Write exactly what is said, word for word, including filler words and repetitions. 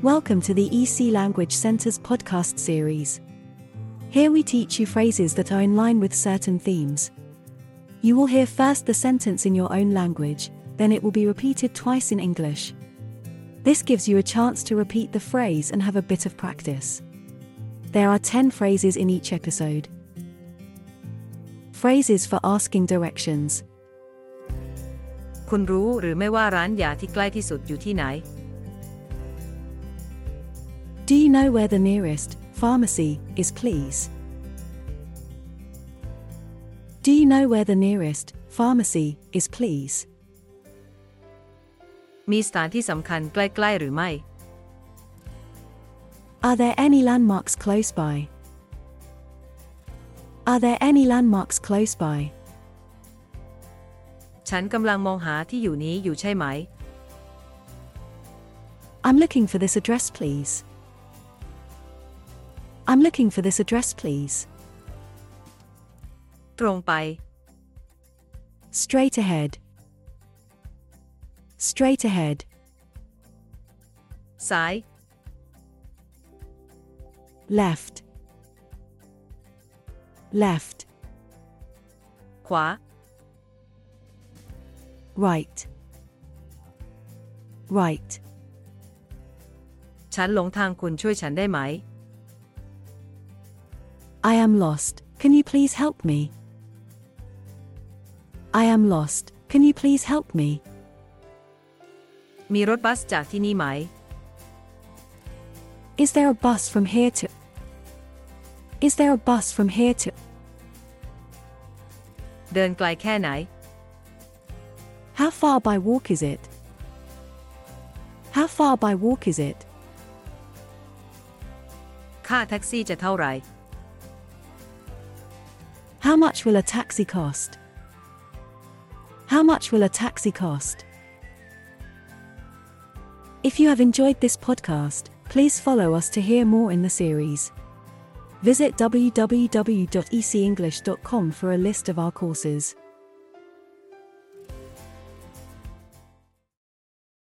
Welcome to the E C Language Center's podcast series. Here we teach you phrases that are in line with certain themes. You will hear first the sentence in your own language, then it will be repeated twice in English. This gives you a chance to repeat the phrase and have a bit of practice. There are ten phrases in each episode. Phrases for asking directions. คุณรู้หรือไม่ว่าร้านยาที่ใกล้ที่สุดอยู่ที่ไหน Do you know where the nearest pharmacy is, please? Do you know where the nearest pharmacy is, please? มีสถานที่สำคัญใกล้ๆหรือไม่ Are there any landmarks close by? Are there any landmarks close by? ฉันกำลังมองหาที่อยู่นี้อยู่ใช่ไหม I'm looking for this address, please. I'm looking for this address, please. ตรงไป Straight ahead. Straight ahead. ซ้าย Left. Left. ขวา Right. Right. ฉันหลงทางคุณช่วยฉันได้ไหม I am lost. Can you please help me? I am lost. Can you please help me? มีรถบัสจากที่นี่ไหม Is there a bus from here to? Is there a bus from here to? เดินไกลแค่ไหน How far by walk is it? How far by walk is it? ค่าแท็กซี่จะเท่าไหร่ How much will a taxi cost? How much will a taxi cost? If you have enjoyed this podcast, please follow us to hear more in the series. Visit w w w dot e c english dot com for a list of our courses.